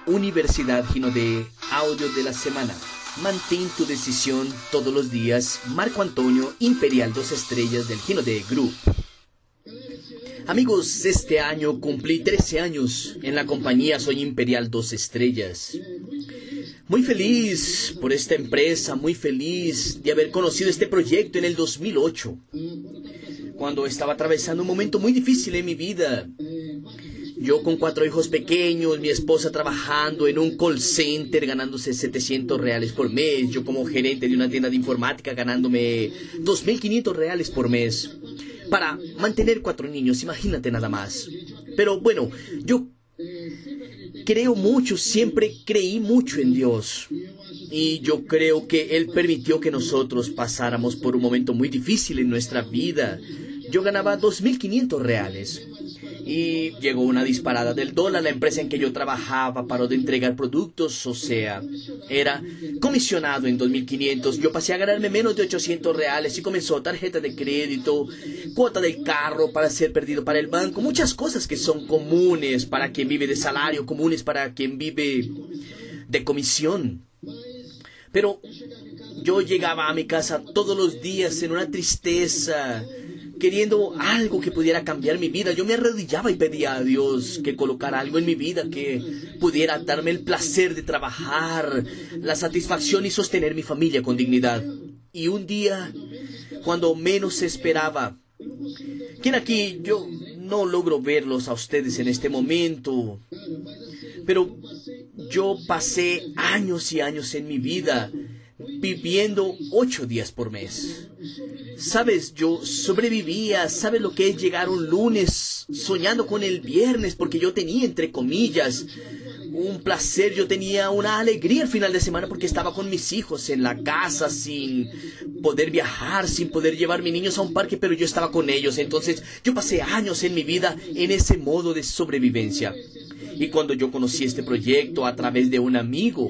Universidad Gino de Audio de la Semana. Mantén tu decisión todos los días. Marco Antonio, Imperial 2 estrellas del Gino de Group. Amigos, este año cumplí 13 años en la compañía. Soy Imperial 2 estrellas. Muy feliz por esta empresa, muy feliz de haber conocido este proyecto en el 2008, cuando estaba atravesando un momento muy difícil en mi vida. Yo con 4 hijos pequeños, mi esposa trabajando en un call center ganándose 700 reales por mes, yo como gerente de una tienda de informática ganándome 2.500 reales por mes, para mantener 4 niños, imagínate nada más. Pero bueno, yo creo mucho, siempre creí mucho en Dios. Y yo creo que Él permitió que nosotros pasáramos por un momento muy difícil en nuestra vida. Yo ganaba 2.500 reales. Y llegó una disparada del dólar. La empresa en que yo trabajaba paró de entregar productos, o sea, era comisionado en 2.500. Yo pasé a ganarme menos de 800 reales y comenzó tarjeta de crédito, cuota del carro para ser perdido para el banco. Muchas cosas que son comunes para quien vive de salario, comunes para quien vive de comisión. Pero yo llegaba a mi casa todos los días en una tristeza, queriendo algo que pudiera cambiar mi vida. Yo me arrodillaba y pedía a Dios que colocara algo en mi vida que pudiera darme el placer de trabajar, la satisfacción y sostener mi familia con dignidad. Y un día, cuando menos se esperaba, ¿quién aquí? Yo no logro verlos a ustedes en este momento, pero yo pasé años y años en mi vida viviendo 8 días por mes. Sabes, yo sobrevivía. ¿Sabes lo que es llegar un lunes soñando con el viernes? Porque yo tenía, entre comillas, un placer, yo tenía una alegría al final de semana porque estaba con mis hijos en la casa sin poder viajar, sin poder llevar a mis niños a un parque, pero yo estaba con ellos. Entonces yo pasé años en mi vida en ese modo de sobrevivencia. Y cuando yo conocí este proyecto a través de un amigo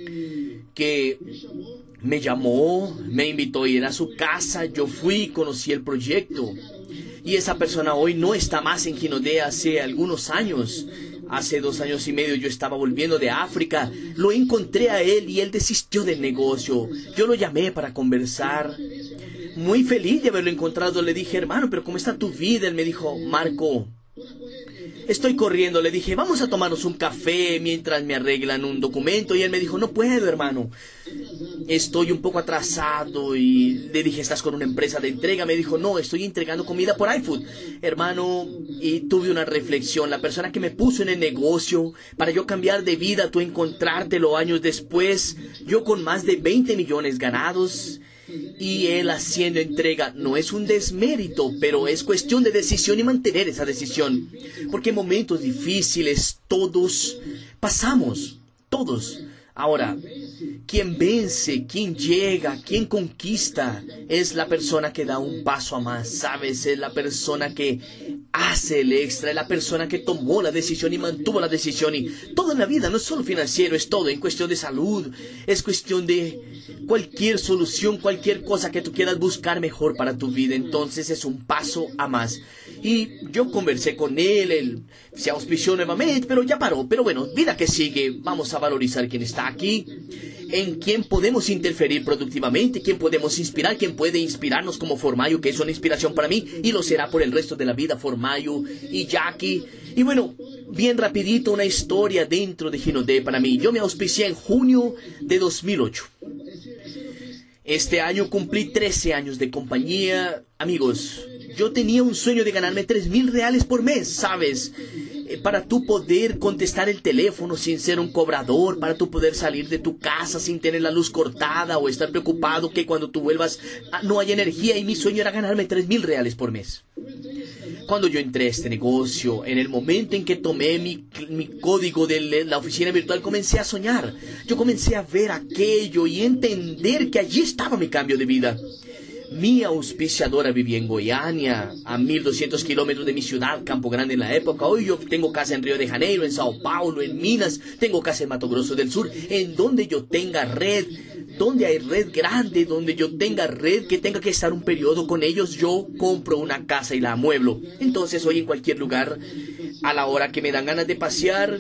que me llamó, me invitó a ir a su casa, yo fui y conocí el proyecto. Y esa persona hoy no está más en Gino de hace algunos años. Hace 2 años y medio yo estaba volviendo de África, lo encontré a él y él desistió del negocio. Yo lo llamé para conversar. Muy feliz de haberlo encontrado, le dije, hermano, pero ¿cómo está tu vida? Él me dijo, Marco, estoy corriendo. Le dije, vamos a tomarnos un café mientras me arreglan un documento. Y él me dijo, no puedo, hermano, estoy un poco atrasado. Y le dije, ¿estás con una empresa de entrega? Me dijo, no, estoy entregando comida por iFood, hermano. Y tuve una reflexión. La persona que me puso en el negocio para yo cambiar de vida, tú encontrártelo años después, yo con más de 20 millones ganados y él haciendo entrega, no es un desmérito, pero es cuestión de decisión y mantener esa decisión, porque en momentos difíciles todos pasamos, todos. Ahora, quien vence, quien llega, quien conquista, es la persona que da un paso a más, ¿sabes? Es la persona que hace el extra, es la persona que tomó la decisión y mantuvo la decisión. Y todo en la vida no es solo financiero, es todo, en cuestión de salud, es cuestión de cualquier solución, cualquier cosa que tú quieras buscar mejor para tu vida. Entonces es un paso a más. Y yo conversé con él se auspició nuevamente, pero ya paró. Pero bueno, vida que sigue, vamos a valorizar quién está aquí, en quién podemos interferir productivamente, quién podemos inspirar, quién puede inspirarnos como Formayo, que es una inspiración para mí y lo será por el resto de la vida, Formayo y Jackie. Y bueno, bien rapidito una historia dentro de Gino de para mí. Yo me auspicié en junio de 2008. Este año cumplí 13 años de compañía. Amigos, yo tenía un sueño de ganarme 3.000 reales por mes, ¿sabes? Para tú poder contestar el teléfono sin ser un cobrador, para tú poder salir de tu casa sin tener la luz cortada o estar preocupado que cuando tú vuelvas no haya energía. Y mi sueño era ganarme 3.000 reales por mes. Cuando yo entré a este negocio, en el momento en que tomé mi código de la oficina virtual, comencé a soñar. Yo comencé a ver aquello y entender que allí estaba mi cambio de vida. Mi auspiciadora vivía en Goiânia, a 1.200 kilómetros de mi ciudad, Campo Grande en la época. Hoy yo tengo casa en Río de Janeiro, en Sao Paulo, en Minas, tengo casa en Mato Grosso del Sur, en donde yo tenga red, donde hay red grande, donde yo tenga red que tenga que estar un periodo con ellos, yo compro una casa y la amueblo. Entonces hoy en cualquier lugar, a la hora que me dan ganas de pasear,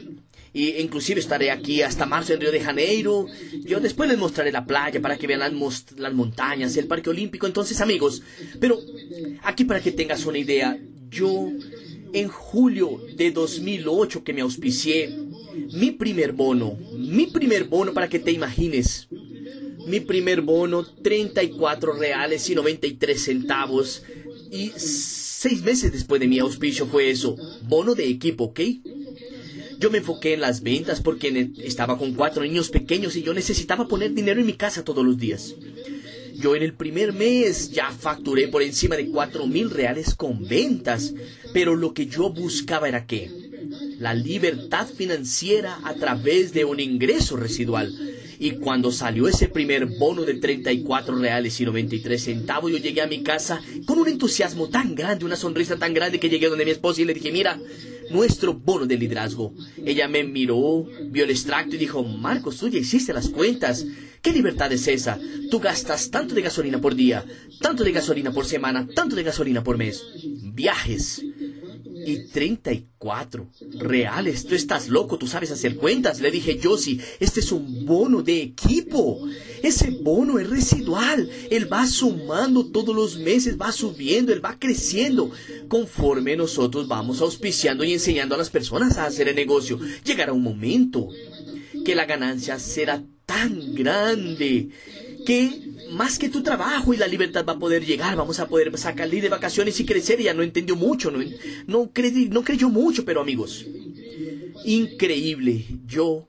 Y inclusive estaré aquí hasta marzo en Río de Janeiro. Yo después les mostraré la playa para que vean las montañas, el Parque Olímpico. Entonces, amigos, pero aquí para que tengas una idea, yo en julio de 2008 que me auspicié, mi primer bono para que te imagines, mi primer bono, 34 reales y 93 centavos. Y 6 meses después de mi auspicio fue eso, bono de equipo, ¿ok? Yo me enfoqué en las ventas porque estaba con 4 niños pequeños y yo necesitaba poner dinero en mi casa todos los días. Yo en el primer mes ya facturé por encima de 4.000 reales con ventas, pero lo que yo buscaba era ¿qué? La libertad financiera a través de un ingreso residual. Y cuando salió ese primer bono de 34 reales y 93 centavos, yo llegué a mi casa con un entusiasmo tan grande, una sonrisa tan grande, que llegué donde mi esposa y le dije, mira, nuestro bono de liderazgo. Ella me miró, vio el extracto y dijo, Marcos, tú ya hiciste las cuentas. ¿Qué libertad es esa? Tú gastas tanto de gasolina por día, tanto de gasolina por semana, tanto de gasolina por mes. Viajes. Y 34 reales. Tú estás loco, tú sabes hacer cuentas. Le dije, Josie, este es un bono de equipo. Ese bono es residual. Él va sumando todos los meses, va subiendo, él va creciendo. Conforme nosotros vamos auspiciando y enseñando a las personas a hacer el negocio, llegará un momento que la ganancia será tan grande que más que tu trabajo y la libertad va a poder llegar, vamos a poder salir de vacaciones y crecer. Ella no entendió mucho, no creyó mucho, pero amigos, increíble. Yo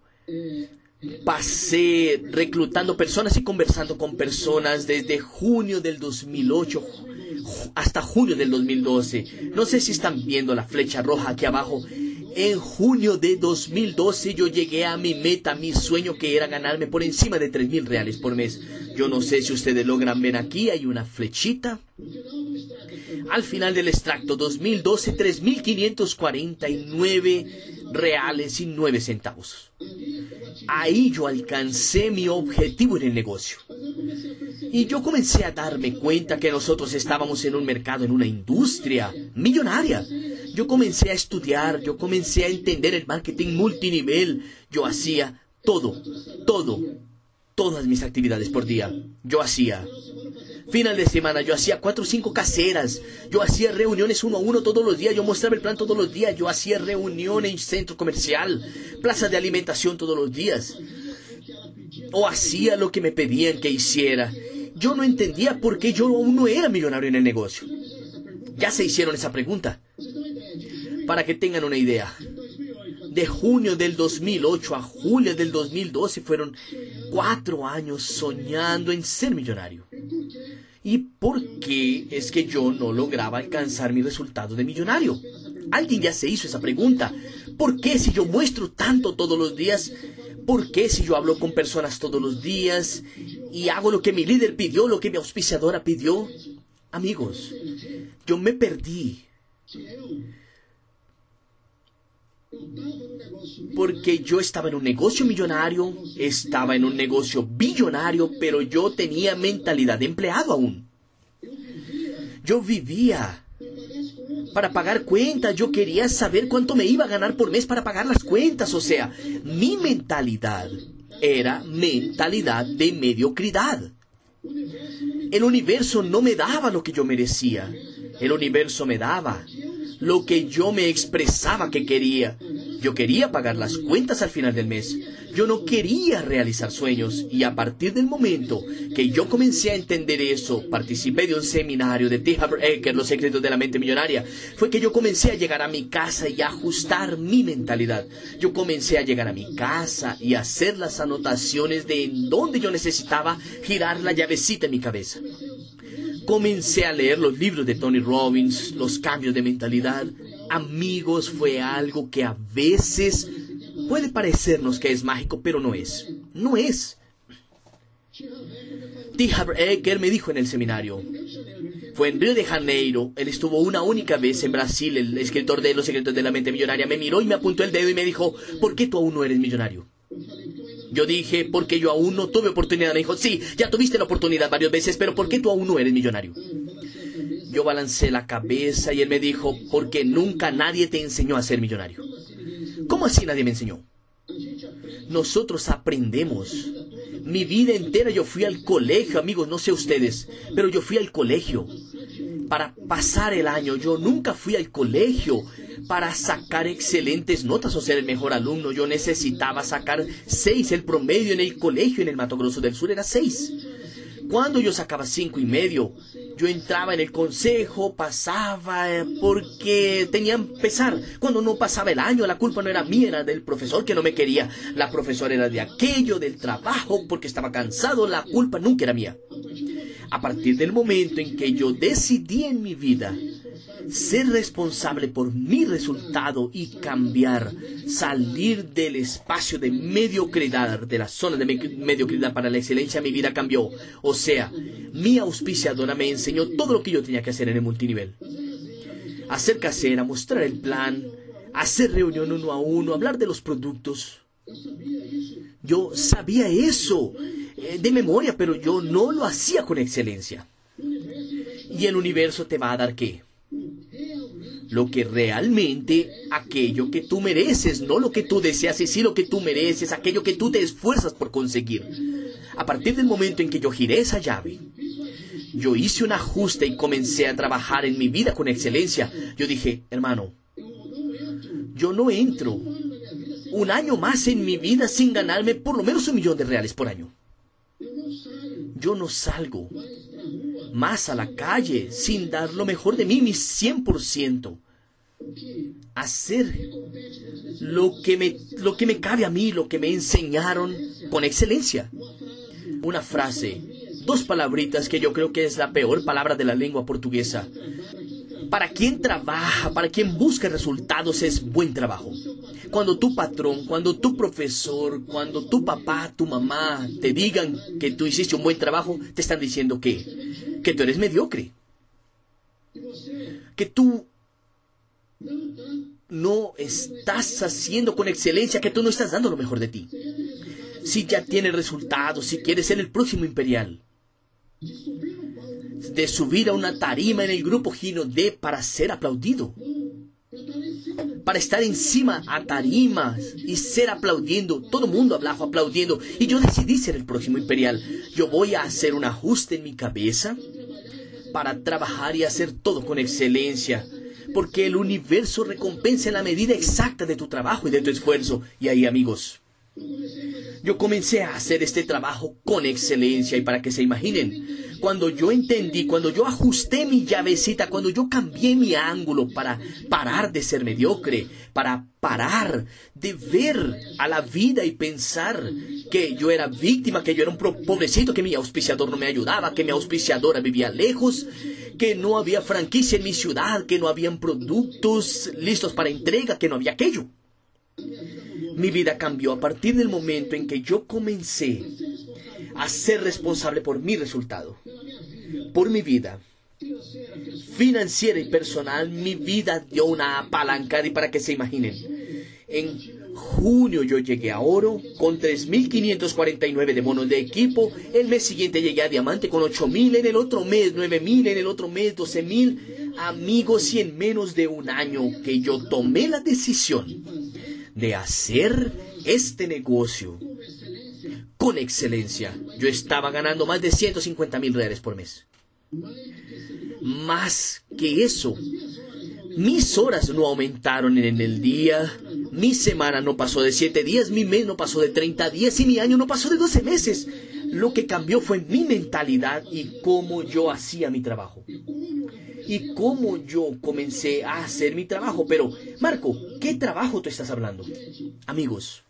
pasé reclutando personas y conversando con personas desde junio del 2008 hasta junio del 2012. No sé si están viendo la flecha roja aquí abajo. En junio de 2012 yo llegué a mi meta, mi sueño, que era ganarme por encima de 3.000 reales por mes. Yo no sé si ustedes logran ver aquí, hay una flechita. Al final del extracto, 2012, 3.549 reales y 9 centavos. Ahí yo alcancé mi objetivo en el negocio. Y yo comencé a darme cuenta que nosotros estábamos en un mercado, en una industria millonaria. Yo comencé a estudiar, yo comencé a entender el marketing multinivel. Yo hacía todas mis actividades por día. Yo hacía final de semana, yo hacía 4 o 5 caseras. Yo hacía reuniones 1 a 1 todos los días. Yo mostraba el plan todos los días. Yo hacía reuniones en centro comercial, plazas de alimentación todos los días. O hacía lo que me pedían que hiciera. Yo no entendía por qué yo aún no era millonario en el negocio. Ya se hicieron esa pregunta. Para que tengan una idea, de junio del 2008 a julio del 2012 fueron 4 años soñando en ser millonario. ¿Y por qué es que yo no lograba alcanzar mi resultado de millonario? Alguien ya se hizo esa pregunta. ¿Por qué si yo muestro tanto todos los días? ¿Por qué si yo hablo con personas todos los días y hago lo que mi líder pidió, lo que mi auspiciadora pidió? Amigos, yo me perdí. Porque yo estaba en un negocio millonario, estaba en un negocio billonario, pero yo tenía mentalidad de empleado aún. Yo vivía para pagar cuentas, yo quería saber cuánto me iba a ganar por mes para pagar las cuentas. O sea, mi mentalidad era mentalidad de mediocridad. El universo no me daba lo que yo merecía. El universo me daba lo que yo me expresaba que quería. Yo quería pagar las cuentas al final del mes. Yo no quería realizar sueños. Y a partir del momento que yo comencé a entender eso, participé de un seminario de T. Harv Eker, Los secretos de la mente millonaria, fue que yo comencé a llegar a mi casa y a ajustar mi mentalidad. Yo comencé a llegar a mi casa y a hacer las anotaciones de en dónde yo necesitaba girar la llavecita en mi cabeza. Comencé a leer los libros de Tony Robbins, los cambios de mentalidad. Amigos, fue algo que a veces puede parecernos que es mágico, pero no es. No es. T. Harv Eker me dijo en el seminario. Fue en Río de Janeiro. Él estuvo una única vez en Brasil. El escritor de Los secretos de la mente millonaria me miró y me apuntó el dedo y me dijo, ¿por qué tú aún no eres millonario? Yo dije, porque yo aún no tuve oportunidad. Me dijo, sí, ya tuviste la oportunidad varias veces, pero ¿por qué tú aún no eres millonario? Yo balancé la cabeza y él me dijo, porque nunca nadie te enseñó a ser millonario. ¿Cómo así nadie me enseñó? nosotros aprendemos. Mi vida entera yo fui al colegio, amigos, no sé ustedes, pero yo fui al colegio para pasar el año. Yo nunca fui al colegio para sacar excelentes notas o ser el mejor alumno. Yo necesitaba sacar 6. El promedio en el colegio en el Mato Grosso del Sur era 6. Cuando yo sacaba 5.5, yo entraba en el consejo, pasaba porque tenían pesar. Cuando no pasaba el año, la culpa no era mía, era del profesor que no me quería. La profesora era de aquello, del trabajo, porque estaba cansado. La culpa nunca era mía. A partir del momento en que yo decidí en mi vida ser responsable por mi resultado y cambiar, salir del espacio de mediocridad, de la zona de mediocridad para la excelencia, mi vida cambió. O sea, mi auspiciadora me enseñó todo lo que yo tenía que hacer en el multinivel. Hacer casera, mostrar el plan, hacer reunión 1 a 1, hablar de los productos. Yo sabía eso de memoria, pero yo no lo hacía con excelencia. Y el universo te va a dar ¿qué? Lo que realmente, aquello que tú mereces, no lo que tú deseas, y sí lo que tú mereces, aquello que tú te esfuerzas por conseguir. A partir del momento en que yo giré esa llave, yo hice un ajuste y comencé a trabajar en mi vida con excelencia. Yo dije, hermano, yo no entro un año más en mi vida sin ganarme por lo menos $1.000.000 por año. Yo no salgo más a la calle sin dar lo mejor de mí, mi 100%. Hacer lo que me cabe a mí, lo que me enseñaron con excelencia. Una frase, 2 palabritas que yo creo que es la peor palabra de la lengua portuguesa. Para quien trabaja, para quien busca resultados, es buen trabajo. Cuando tu patrón, cuando tu profesor, cuando tu papá, tu mamá te digan que tú hiciste un buen trabajo, te están diciendo que tú eres mediocre. Que tú no estás haciendo con excelencia, que tú no estás dando lo mejor de ti. Si ya tienes resultados, si quieres ser el próximo imperial, de subir a una tarima en el grupo Gino D para ser aplaudido, para estar encima a tarimas y ser aplaudiendo, todo el mundo abajo aplaudiendo, y yo decidí ser el próximo imperial. Yo voy a hacer un ajuste en mi cabeza para trabajar y hacer todo con excelencia, porque el universo recompensa en la medida exacta de tu trabajo y de tu esfuerzo. Y ahí, amigos, yo comencé a hacer este trabajo con excelencia. Y para que se imaginen, cuando yo entendí, cuando yo ajusté mi llavecita, cuando yo cambié mi ángulo para parar de ser mediocre, para parar de ver a la vida y pensar que yo era víctima, que yo era un pobrecito, que mi auspiciador no me ayudaba, que mi auspiciadora vivía lejos, que no había franquicia en mi ciudad, que no habían productos listos para entrega, que no había aquello. Mi vida cambió a partir del momento en que yo comencé a ser responsable por mi resultado, por mi vida financiera y personal. Mi vida dio una apalancada, y para que se imaginen, en junio yo llegué a oro con 3.549 de bonos de equipo. El mes siguiente llegué a diamante con 8.000, en el otro mes 9.000, en el otro mes 12.000. Amigos, y en menos de un año que yo tomé la decisión de hacer este negocio con excelencia, yo estaba ganando más de $150.000 por mes. Más que eso, mis horas no aumentaron en el día, mi semana no pasó de 7 días, mi mes no pasó de 30 días y mi año no pasó de 12 meses. Lo que cambió fue mi mentalidad y cómo yo hacía mi trabajo. Y cómo yo comencé a hacer mi trabajo. Pero, Marco, ¿qué trabajo tú estás hablando? Amigos,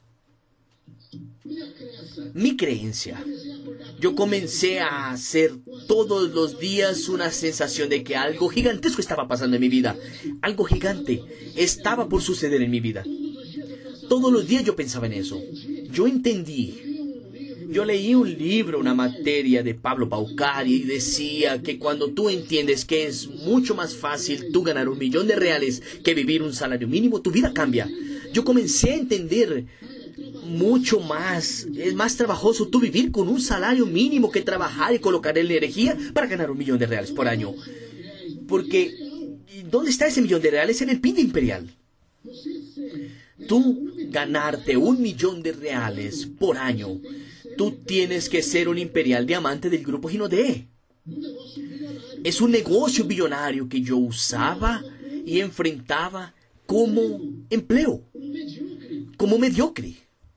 mi creencia. Yo comencé a hacer todos los días una sensación de que algo gigantesco estaba pasando en mi vida. Algo gigante estaba por suceder en mi vida. Todos los días yo pensaba en eso. Yo entendí. Yo leí un libro, una materia de Pablo Paucari, y decía que cuando tú entiendes que es mucho más fácil tú ganar $1.000.000 que vivir un salario mínimo, tu vida cambia. Yo comencé a entender mucho más. Es más trabajoso tú vivir con un salario mínimo que trabajar y colocar en la energía para ganar $1.000.000 por año. Porque, ¿dónde está ese $1.000.000? En el PIN imperial. tú ganarte $1.000.000 por año, tú tienes que ser un imperial diamante del grupo Ginodé. Es un negocio billonario que yo usaba y enfrentaba como empleo, como mediocre.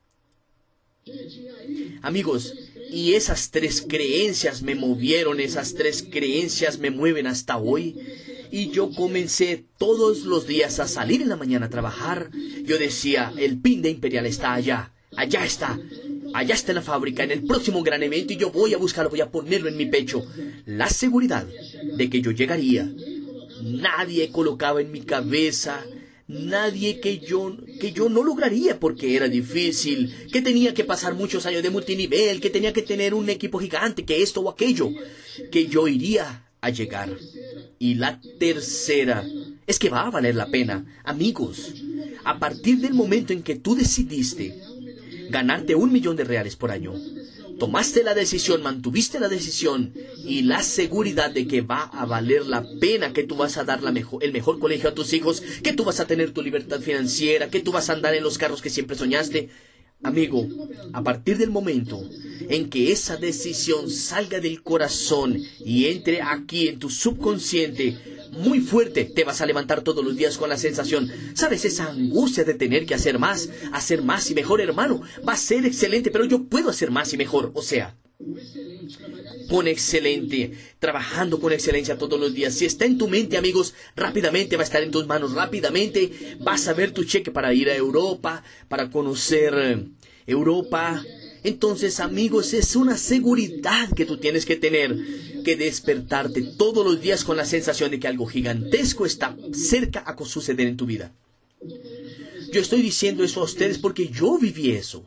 Amigos, y esas 3 creencias me movieron, esas 3 creencias me mueven hasta hoy. Y yo comencé todos los días a salir en la mañana a trabajar. Yo decía, el pin de Imperial está allá, allá está en la fábrica, en el próximo gran evento, y yo voy a buscarlo, voy a ponerlo en mi pecho. La seguridad de que yo llegaría. Nadie colocaba en mi cabeza, nadie que yo no lograría porque era difícil, que tenía que pasar muchos años de multinivel, que tenía que tener un equipo gigante, que esto o aquello, que yo iría a llegar. Y la tercera es que va a valer la pena. Amigos, a partir del momento en que tú decidiste ganarte $1.000.000 por año, tomaste la decisión, mantuviste la decisión y la seguridad de que va a valer la pena, que tú vas a dar el mejor colegio a tus hijos, que tú vas a tener tu libertad financiera, que tú vas a andar en los carros que siempre soñaste. Amigo, a partir del momento en que esa decisión salga del corazón y entre aquí en tu subconsciente muy fuerte, te vas a levantar todos los días con la sensación, ¿sabes? Esa angustia de tener que hacer más y mejor, hermano, va a ser excelente, pero yo puedo hacer más y mejor, o sea, con excelente, trabajando con excelencia todos los días. Si está en tu mente, amigos, rápidamente va a estar en tus manos, rápidamente vas a ver tu cheque para ir a Europa, para conocer Europa. Entonces, amigos, es una seguridad que tú tienes que tener, que despertarte todos los días con la sensación de que algo gigantesco está cerca a suceder en tu vida. Yo estoy diciendo eso a ustedes porque yo viví eso.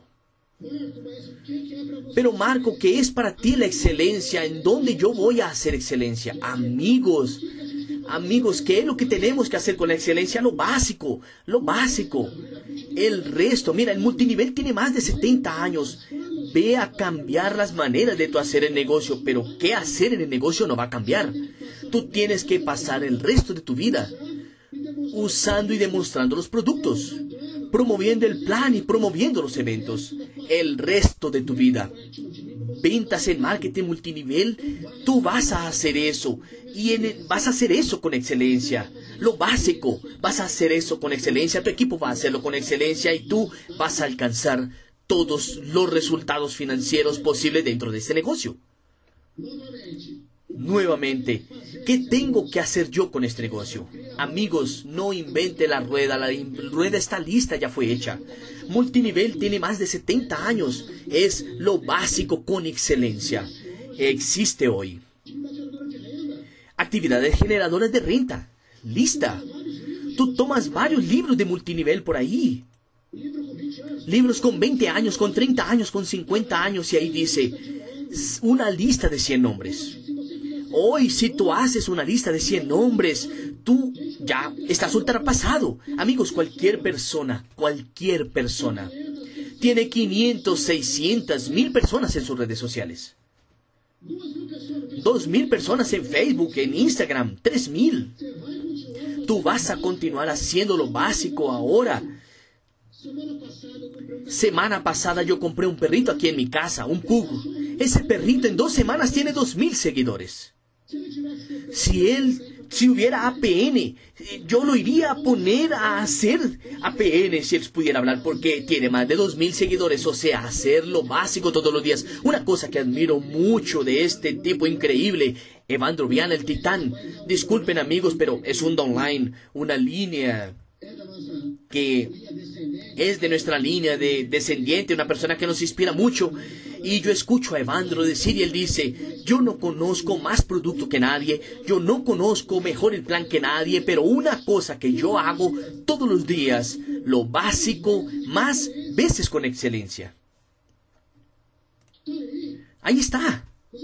Pero Marco, ¿qué es para ti la excelencia? ¿En dónde yo voy a hacer excelencia? Amigos, ¿qué es lo que tenemos que hacer con la excelencia? Lo básico. El resto, mira, el multinivel tiene más de 70 años. Ve a cambiar las maneras de tu hacer el negocio, pero qué hacer en el negocio no va a cambiar. Tú tienes que pasar el resto de tu vida usando y demostrando los productos, promoviendo el plan y promoviendo los eventos. El resto de tu vida, ventas en marketing multinivel, tú vas a hacer eso. Y vas a hacer eso con excelencia. Lo básico, vas a hacer eso con excelencia. Tu equipo va a hacerlo con excelencia y tú vas a alcanzar todos los resultados financieros posibles dentro de este negocio. Nuevamente, ¿qué tengo que hacer yo con este negocio? Amigos, no invente la rueda está lista, ya fue hecha. Multinivel tiene más de 70 años, es lo básico con excelencia. Existe hoy. Actividades generadoras de renta, lista. Tú tomas varios libros de multinivel por ahí. Libros con 20 años, con 30 años, con 50 años, y ahí dice, una lista de 100 nombres. Hoy, si tú haces una lista de 100 nombres, tú ya estás ultrapasado. Amigos, cualquier persona, tiene 500, 600, 1000 personas en sus redes sociales. 2000 personas en Facebook, en Instagram, 3000. Tú vas a continuar haciendo lo básico ahora. Semana pasada yo compré un perrito aquí en mi casa, un pug. Ese perrito en 2 semanas tiene 2000 seguidores. Si hubiera APN, yo lo iría a poner a hacer APN si él pudiera hablar, porque tiene más de 2000 seguidores. O sea, hacer lo básico todos los días. Una cosa que admiro mucho de este tipo increíble, Evandro Viana, el titán. Disculpen, amigos, pero es un downline, una línea que es de nuestra línea de descendiente, una persona que nos inspira mucho. Y yo escucho a Evandro decir, y él dice, yo no conozco más producto que nadie, yo no conozco mejor el plan que nadie, pero una cosa que yo hago todos los días, lo básico, más veces con excelencia. Ahí está.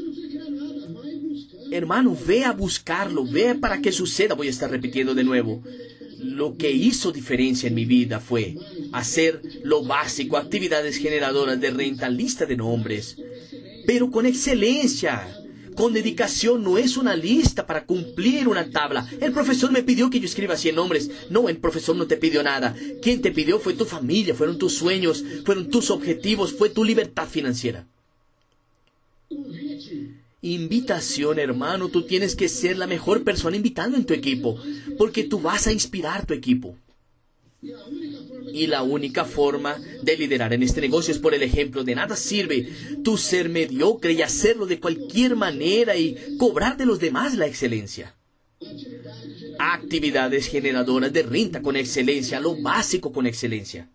Hermano, ve a buscarlo, ve para que suceda. Voy a estar repitiendo de nuevo. Lo que hizo diferencia en mi vida fue hacer lo básico, actividades generadoras de renta, lista de nombres, pero con excelencia, con dedicación, no es una lista para cumplir una tabla. El profesor me pidió que yo escriba 100 nombres. No, el profesor no te pidió nada. Quien te pidió fue tu familia, fueron tus sueños, fueron tus objetivos, fue tu libertad financiera. Invitación, hermano, tú tienes que ser la mejor persona invitando en tu equipo, porque tú vas a inspirar a tu equipo. Y la única forma de liderar en este negocio es por el ejemplo. De nada sirve tú ser mediocre y hacerlo de cualquier manera y cobrar de los demás la excelencia. Actividades generadoras de renta con excelencia, lo básico con excelencia.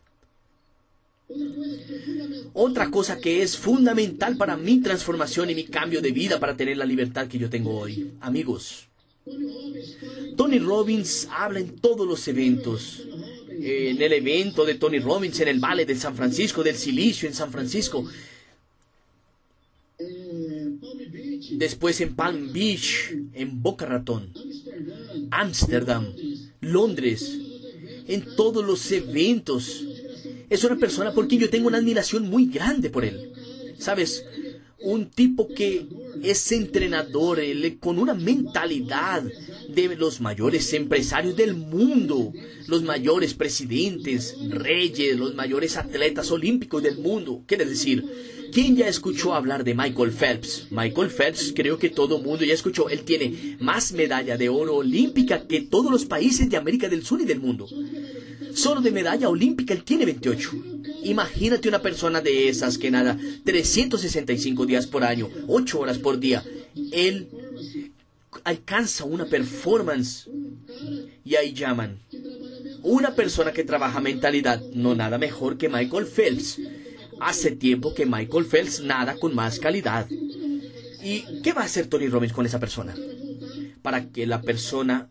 Otra cosa que es fundamental para mi transformación y mi cambio de vida para tener la libertad que yo tengo hoy. Amigos, Tony Robbins habla en todos los eventos. En el evento de Tony Robbins en el Valle de San Francisco, del Silicio en San Francisco. Después en Palm Beach, en Boca Ratón, Ámsterdam, Londres. En todos los eventos. Es una persona por quien yo tengo una admiración muy grande por él. ¿Sabes? Un tipo que es entrenador, con una mentalidad de los mayores empresarios del mundo, los mayores presidentes, reyes, los mayores atletas olímpicos del mundo. Quiere decir, ¿quién ya escuchó hablar de Michael Phelps? Michael Phelps, creo que todo el mundo ya escuchó. Él tiene más medalla de oro olímpica que todos los países de América del Sur y del mundo. Solo de medalla olímpica él tiene 28. Imagínate una persona de esas que nada 365 días por año, 8 horas por día. Él alcanza una performance y ahí llaman. Una persona que trabaja mentalidad, no nada mejor que Michael Phelps. Hace tiempo que Michael Phelps nada con más calidad. ¿Y qué va a hacer Tony Robbins con esa persona? Para que la persona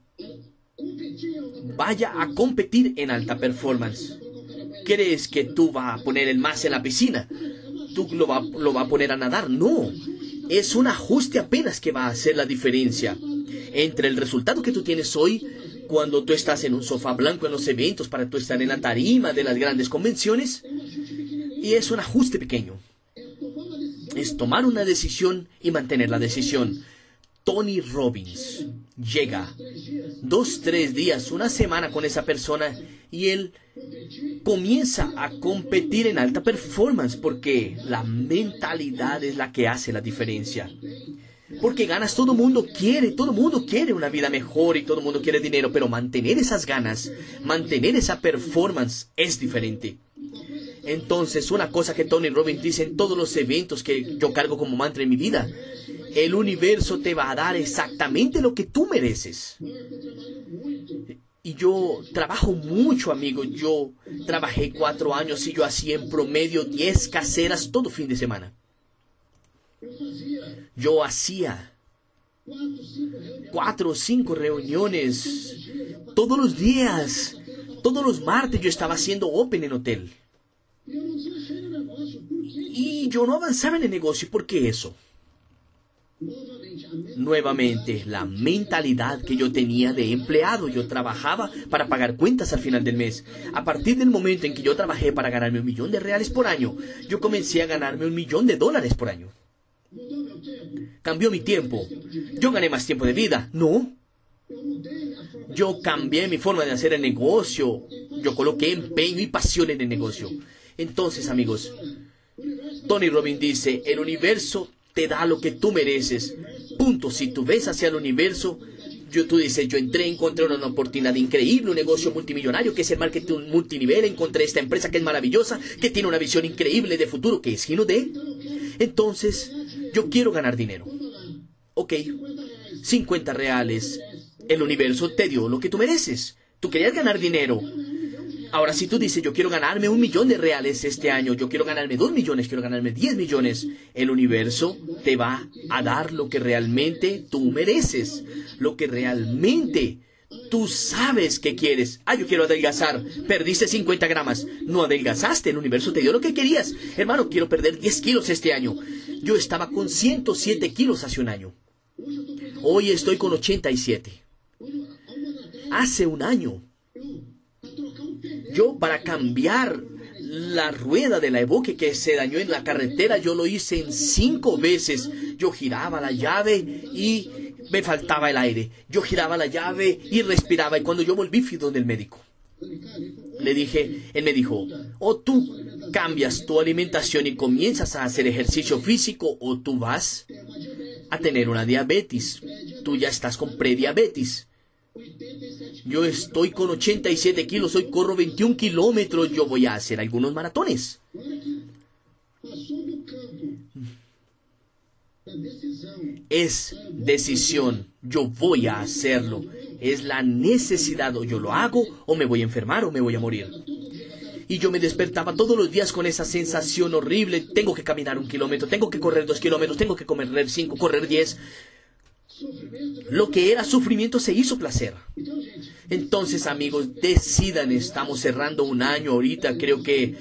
vaya a competir en alta performance. ¿Crees que tú vas a poner el más en la piscina? ¿Tú lo va a poner a nadar? No. Es un ajuste apenas que va a hacer la diferencia entre el resultado que tú tienes hoy cuando tú estás en un sofá blanco en los eventos para tú estar en la tarima de las grandes convenciones. Y es un ajuste pequeño. Es tomar una decisión y mantener la decisión. Tony Robbins llega 2, 3 días, una semana con esa persona y él comienza a competir en alta performance porque la mentalidad es la que hace la diferencia. Porque ganas, todo el mundo quiere una vida mejor y todo el mundo quiere dinero, pero mantener esas ganas, mantener esa performance es diferente. Entonces, una cosa que Tony Robbins dice en todos los eventos que yo cargo como mantra en mi vida: el universo te va a dar exactamente lo que tú mereces. Y yo trabajo mucho, amigo. Yo trabajé 4 años y yo hacía en promedio 10 caseras todo fin de semana. Yo hacía 4 o 5 reuniones todos los días. Todos los martes yo estaba haciendo open en hotel. Y yo no avanzaba en el negocio. ¿Por qué eso? Nuevamente, la mentalidad que yo tenía de empleado. Yo trabajaba para pagar cuentas al final del mes. A partir del momento en que yo trabajé para ganarme $1 millón por año, yo comencé a ganarme $1 millón por año. Cambió mi tiempo. ¿Yo gané más tiempo de vida? No. Yo cambié mi forma de hacer el negocio. Yo coloqué empeño y pasión en el negocio. Entonces, amigos, Tony Robbins dice: el universo te da lo que tú mereces. Punto. Si tú ves hacia el universo, tú dices: yo encontré una oportunidad increíble, un negocio multimillonario que es el marketing multinivel, encontré esta empresa que es maravillosa, que tiene una visión increíble de futuro, que es Gino D. Entonces, yo quiero ganar dinero. Ok, $50. El universo te dio lo que tú mereces. Tú querías ganar dinero. Ahora, si tú dices: yo quiero ganarme $1 millón este año, yo quiero ganarme 2 millones, quiero ganarme 10 millones, el universo te va a dar lo que realmente tú mereces, lo que realmente tú sabes que quieres. Yo quiero adelgazar. Perdiste 50 gramos. No adelgazaste, el universo te dio lo que querías. Hermano, quiero perder 10 kilos este año. Yo estaba con 107 kilos hace un año. Hoy estoy con 87. Hace un año, yo, para cambiar la rueda de la Evoque que se dañó en la carretera, yo lo hice en 5 veces. Yo giraba la llave y me faltaba el aire. Yo giraba la llave y respiraba. Y cuando yo volví fui donde el médico. Le dije, él me dijo, o tú cambias tu alimentación y comienzas a hacer ejercicio físico, o tú vas a tener una diabetes. Tú ya estás con prediabetes. Yo estoy con 87 kilos, hoy corro 21 kilómetros, yo voy a hacer algunos maratones. Es decisión, yo voy a hacerlo. Es la necesidad, o yo lo hago, o me voy a enfermar, o me voy a morir. Y yo me despertaba todos los días con esa sensación horrible. Tengo que caminar 1 kilómetro, tengo que correr 2 kilómetros, tengo que correr 5, correr 10. Lo que era sufrimiento se hizo placer. Entonces, amigos, decidan. Estamos cerrando un año ahorita. Creo que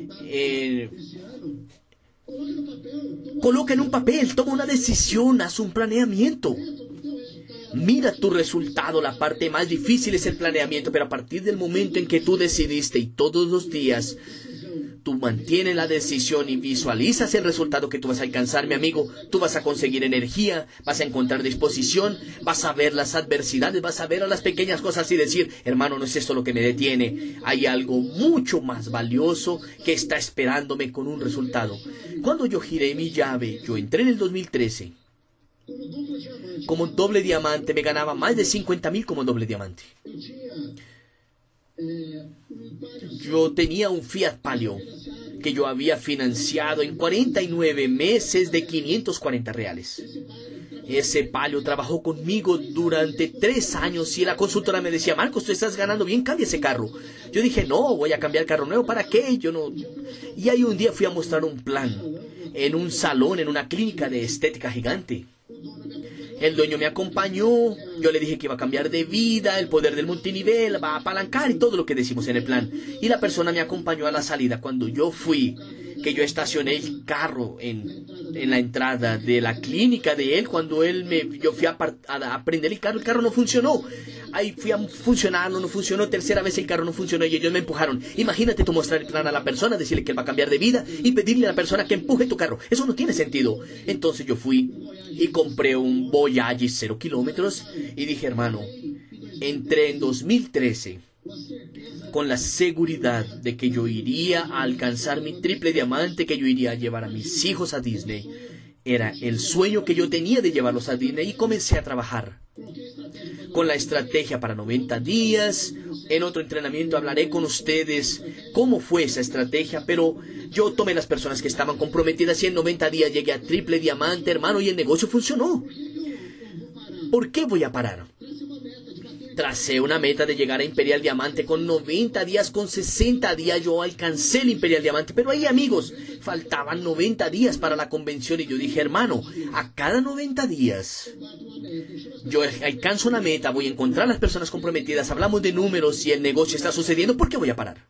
coloca en un papel, toma una decisión, haz un planeamiento. Mira tu resultado. La parte más difícil es el planeamiento, pero a partir del momento en que tú decidiste y todos los días tú mantienes la decisión y visualizas el resultado que tú vas a alcanzar, mi amigo, tú vas a conseguir energía, vas a encontrar disposición, vas a ver las adversidades, vas a ver a las pequeñas cosas y decir, hermano, no es esto lo que me detiene. Hay algo mucho más valioso que está esperándome con un resultado. Cuando yo giré mi llave, yo entré en el 2013. Como doble diamante, me ganaba más de 50,000 como doble diamante. Yo tenía un Fiat Palio que yo había financiado en 49 meses de 540 reales. Ese Palio trabajó conmigo durante 3 años y la consultora me decía, Marcos, tú estás ganando bien, cambia ese carro. Yo dije, no, voy a cambiar carro nuevo, ¿para qué? Yo no. Y ahí un día fui a mostrar un plan en un salón, en una clínica de estética gigante. El dueño me acompañó, yo le dije que iba a cambiar de vida, el poder del multinivel, va a apalancar y todo lo que decimos en el plan. Y la persona me acompañó a la salida. Cuando yo fui, que yo estacioné el carro en la entrada de la clínica de él, cuando yo fui a prender el carro no funcionó. Ahí fui a funcionarlo, no funcionó, tercera vez el carro no funcionó y ellos me empujaron. Imagínate tú mostrar el plan a la persona, decirle que él va a cambiar de vida y pedirle a la persona que empuje tu carro. Eso no tiene sentido. Entonces yo fui y compré un Voyage 0 kilómetros y dije, hermano, entré en 2013 con la seguridad de que yo iría a alcanzar mi triple diamante, que yo iría a llevar a mis hijos a Disney. Era el sueño que yo tenía de llevarlos a Disney y comencé a trabajar con la estrategia para 90 días. En otro entrenamiento hablaré con ustedes cómo fue esa estrategia, pero yo tomé las personas que estaban comprometidas y en 90 días llegué a triple diamante, hermano, y el negocio funcionó. ¿Por qué voy a parar? Tracé una meta de llegar a Imperial Diamante con 90 días, con 60 días yo alcancé el Imperial Diamante. Pero ahí, amigos, faltaban 90 días para la convención y yo dije, hermano, a cada 90 días yo alcanzo una meta, voy a encontrar a las personas comprometidas, hablamos de números y el negocio está sucediendo, ¿por qué voy a parar?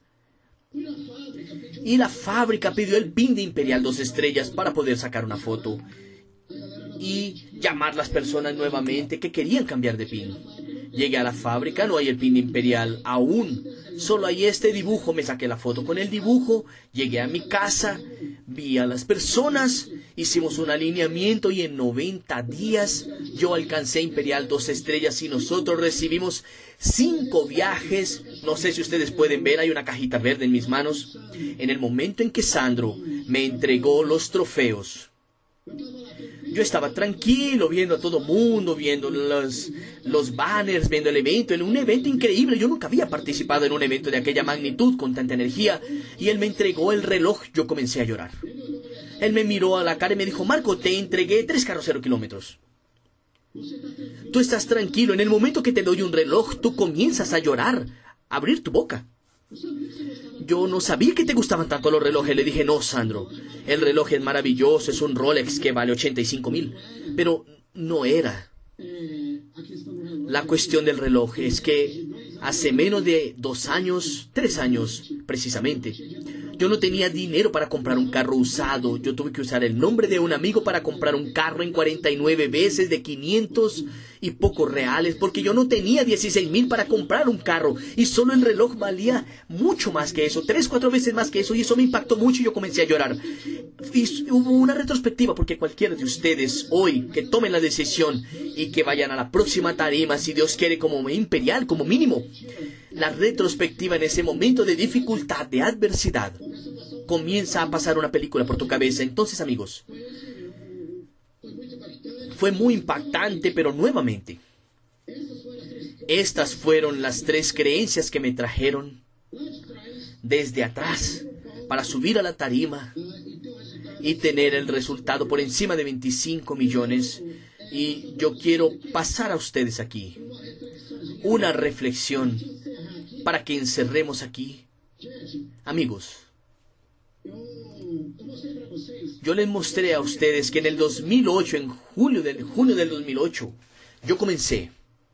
Y la fábrica pidió el PIN de Imperial 2 estrellas para poder sacar una foto y llamar a las personas nuevamente que querían cambiar de PIN. Llegué a la fábrica, no hay el PIN de Imperial aún, solo hay este dibujo, me saqué la foto con el dibujo, llegué a mi casa, vi a las personas, hicimos un alineamiento y en 90 días yo alcancé Imperial 2 estrellas y nosotros recibimos 5 viajes. No sé si ustedes pueden ver, hay una cajita verde en mis manos. En el momento en que Sandro me entregó los trofeos, yo estaba tranquilo viendo a todo mundo, viendo los banners, viendo el evento, en un evento increíble. Yo nunca había participado en un evento de aquella magnitud, con tanta energía. Y él me entregó el reloj, yo comencé a llorar. Él me miró a la cara y me dijo, Marco, te entregué 3 carros 0 kilómetros. Tú estás tranquilo, en el momento que te doy un reloj, tú comienzas a llorar, a abrir tu boca. Yo no sabía que te gustaban tanto los relojes. Le dije, no, Sandro, el reloj es maravilloso, es un Rolex que vale 85,000. Pero no era la cuestión del reloj. Es que hace menos de 2 años, 3 años precisamente, Yo no tenía dinero para comprar un carro usado. Yo tuve que usar el nombre de un amigo para comprar un carro en 49 veces de 500 y pocos reales, porque yo no tenía 16,000 para comprar un carro. Y solo el reloj valía mucho más que eso, 3, 4 veces más que eso. Y eso me impactó mucho y yo comencé a llorar. Y hubo una retrospectiva, porque cualquiera de ustedes hoy que tomen la decisión y que vayan a la próxima tarima, si Dios quiere, como imperial, como mínimo, la retrospectiva en ese momento de dificultad, de adversidad, comienza a pasar una película por tu cabeza. Entonces, amigos, fue muy impactante, pero nuevamente, estas fueron las 3 creencias que me trajeron desde atrás para subir a la tarima y tener el resultado por encima de 25 millones. Y yo quiero pasar a ustedes aquí una reflexión para que encerremos aquí. Amigos, yo les mostré a ustedes que en el 2008, en junio del 2008, yo comencé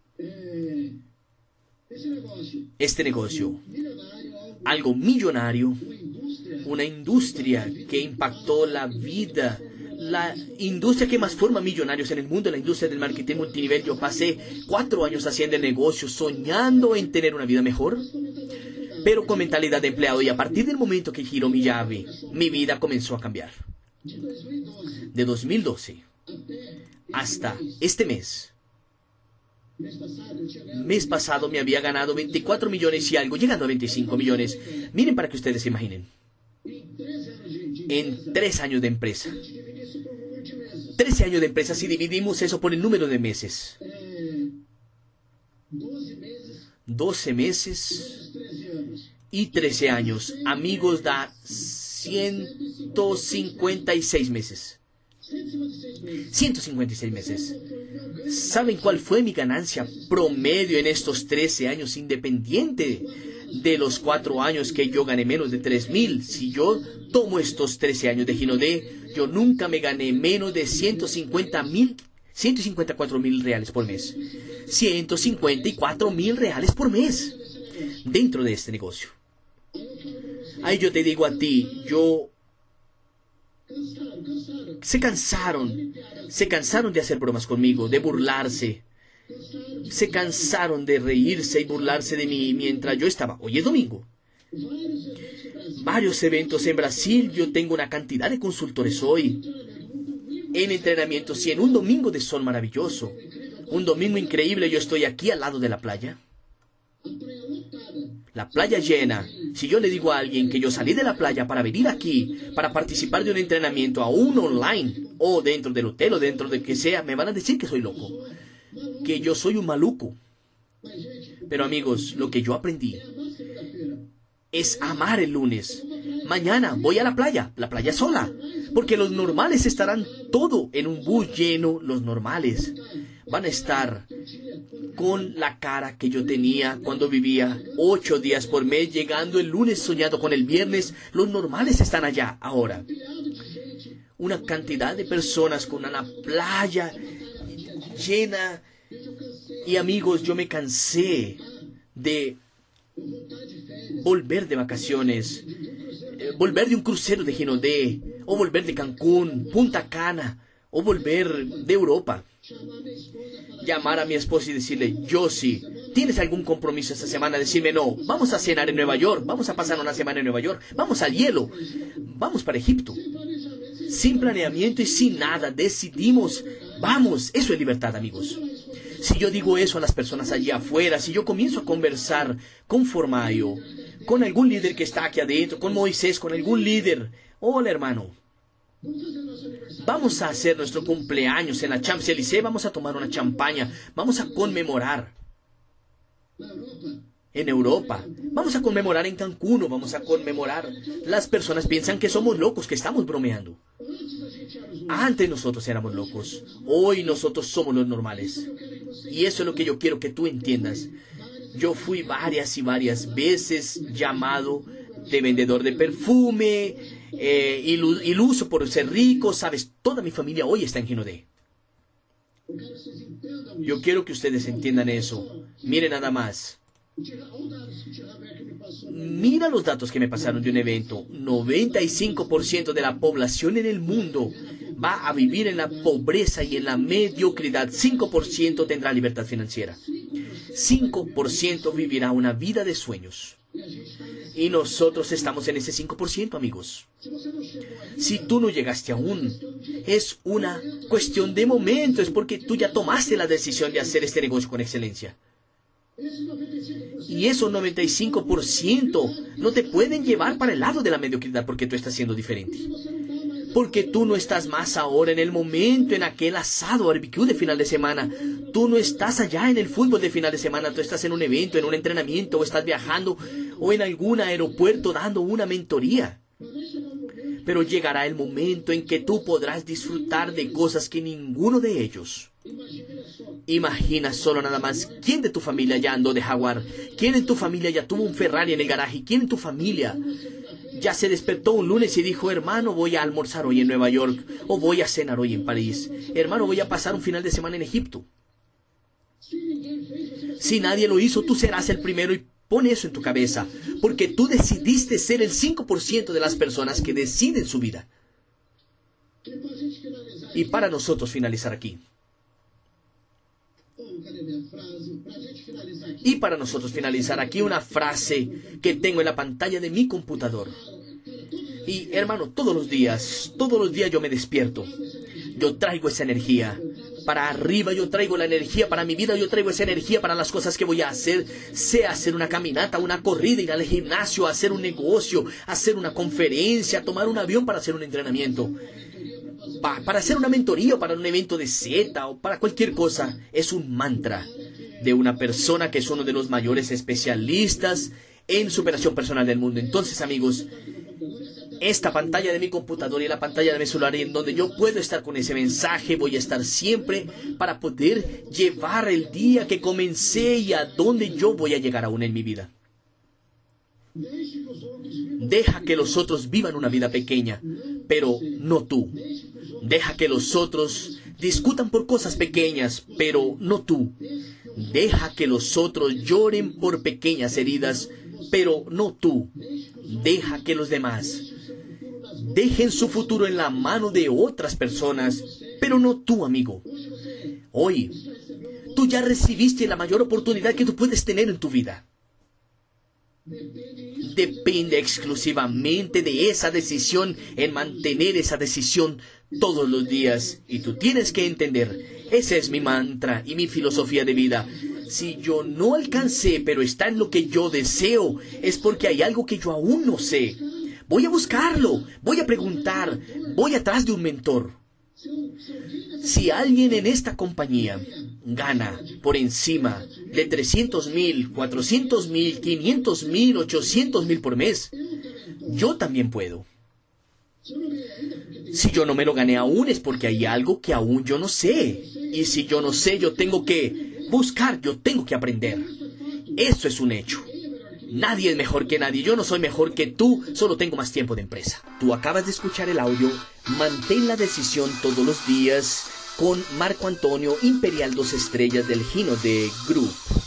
este negocio, algo millonario, una industria que impactó la vida, la industria que más forma millonarios en el mundo, la industria del marketing multinivel. Yo pasé 4 años haciendo el negocio, soñando en tener una vida mejor, pero con mentalidad de empleado. Y a partir del momento que giró mi llave, mi vida comenzó a cambiar. De 2012 hasta este mes pasado me había ganado 24 millones y algo, llegando a 25 millones. Miren, para que ustedes se imaginen, en 3 años de empresa. 13 años de empresa, si dividimos eso por el número de meses. 12 meses y 13 años. Amigos, da 156 meses. 156 meses. ¿Saben cuál fue mi ganancia promedio en estos 13 años, independiente de los 4 años que yo gané menos de 3,000? Si yo tomo estos 13 años de Ginodé, yo nunca me gané menos de 154,000 reales por mes. 154,000 reales por mes dentro de este negocio. Ahí yo te digo a ti, se cansaron de hacer bromas conmigo, de burlarse. Se cansaron de reírse y burlarse de mí mientras yo estaba. Hoy es domingo. Varios eventos en Brasil. Yo tengo una cantidad de consultores hoy en entrenamientos y en un domingo de sol maravilloso. Un domingo increíble. Yo estoy aquí al lado de la playa. La playa llena. Si yo le digo a alguien que yo salí de la playa para venir aquí, para participar de un entrenamiento aún online, o dentro del hotel, o dentro de que sea, me van a decir que soy loco, que yo soy un maluco. Pero amigos, lo que yo aprendí es amar el lunes. Mañana voy a la playa sola, porque los normales estarán todo en un bus lleno. Los normales van a estar con la cara que yo tenía cuando vivía 8 días por mes, llegando el lunes soñado con el viernes. Los normales están allá ahora. Una cantidad de personas con una playa llena. Y amigos, yo me cansé de volver de vacaciones, volver de un crucero de Ginodé, o volver de Cancún, Punta Cana, o volver de Europa. Llamar a mi esposa y decirle, Josie, ¿tienes algún compromiso esta semana? Decirme, no, vamos a cenar en Nueva York, vamos a pasar una semana en Nueva York, vamos al hielo, vamos para Egipto. Sin planeamiento y sin nada, decidimos, vamos. Eso es libertad, amigos. Si yo digo eso a las personas allí afuera, si yo comienzo a conversar con Formayo, con algún líder que está aquí adentro, con Moisés, con algún líder, hola hermano, vamos a hacer nuestro cumpleaños en la Champs-Élysées, vamos a tomar una champaña, vamos a conmemorar en Europa, vamos a conmemorar en Cancún, vamos a conmemorar. Las personas piensan que somos locos, que estamos bromeando. Antes nosotros éramos locos, hoy nosotros somos los normales. Y eso es lo que yo quiero que tú entiendas. Yo fui varias y varias veces llamado de vendedor de perfume, iluso por ser rico, sabes, toda mi familia hoy está en Ginodé. Yo quiero que ustedes entiendan eso. Miren nada más. Mira los datos que me pasaron de un evento. 95% de la población en el mundo va a vivir en la pobreza y en la mediocridad. 5% tendrá libertad financiera. 5% vivirá una vida de sueños. Y nosotros estamos en ese 5%, amigos. Si tú no llegaste aún, es una cuestión de momento. Es porque tú ya tomaste la decisión de hacer este negocio con excelencia. Y esos 95% no te pueden llevar para el lado de la mediocridad porque tú estás siendo diferente. Porque tú no estás más ahora en el momento, en aquel asado barbecue de final de semana. Tú no estás allá en el fútbol de final de semana. Tú estás en un evento, en un entrenamiento, o estás viajando, o en algún aeropuerto dando una mentoría. Pero llegará el momento en que tú podrás disfrutar de cosas que ninguno de ellos. Imagina solo nada más, ¿quién de tu familia ya andó de Jaguar? ¿Quién en tu familia ya tuvo un Ferrari en el garaje? ¿Quién en tu familia ya se despertó un lunes y dijo, hermano, voy a almorzar hoy en Nueva York, o voy a cenar hoy en París? Hermano, voy a pasar un final de semana en Egipto. Si nadie lo hizo, tú serás el primero, y pon eso en tu cabeza, porque tú decidiste ser el 5% de las personas que deciden su vida. Y para nosotros finalizar aquí. Una frase que tengo en la pantalla de mi computador. Y hermano, todos los días yo me despierto. Yo traigo esa energía para arriba, yo traigo la energía para mi vida, yo traigo esa energía para las cosas que voy a hacer. Sea hacer una caminata, una corrida, ir al gimnasio, hacer un negocio, hacer una conferencia, tomar un avión para hacer un entrenamiento. Para hacer una mentoría o para un evento de Z o para cualquier cosa. Es un mantra de una persona que es uno de los mayores especialistas en superación personal del mundo. Entonces, amigos, esta pantalla de mi computadora y la pantalla de mi celular en donde yo puedo estar con ese mensaje, voy a estar siempre para poder llevar el día que comencé y a donde yo voy a llegar aún en mi vida. Deja que los otros vivan una vida pequeña, pero no tú. Deja que los otros discutan por cosas pequeñas, pero no tú. Deja que los otros lloren por pequeñas heridas, pero no tú. Deja que los demás dejen su futuro en la mano de otras personas, pero no tú, amigo. Hoy, tú ya recibiste la mayor oportunidad que tú puedes tener en tu vida. Depende exclusivamente de esa decisión, en mantener esa decisión todos los días. Y tú tienes que entender, ese es mi mantra y mi filosofía de vida. Si yo no alcancé, pero está en lo que yo deseo, es porque hay algo que yo aún no sé. Voy a buscarlo, voy a preguntar, voy atrás de un mentor. Si alguien en esta compañía gana por encima de 300,000, 400,000, 500,000, 800,000 por mes, yo también puedo. Si yo no me lo gané aún es porque hay algo que aún yo no sé. Y si yo no sé, yo tengo que buscar, yo tengo que aprender. Eso es un hecho. Nadie es mejor que nadie. Yo no soy mejor que tú, solo tengo más tiempo de empresa. Tú acabas de escuchar el audio Mantén la decisión todos los días con Marco Antonio Imperial 2 Estrellas del Gino de Group.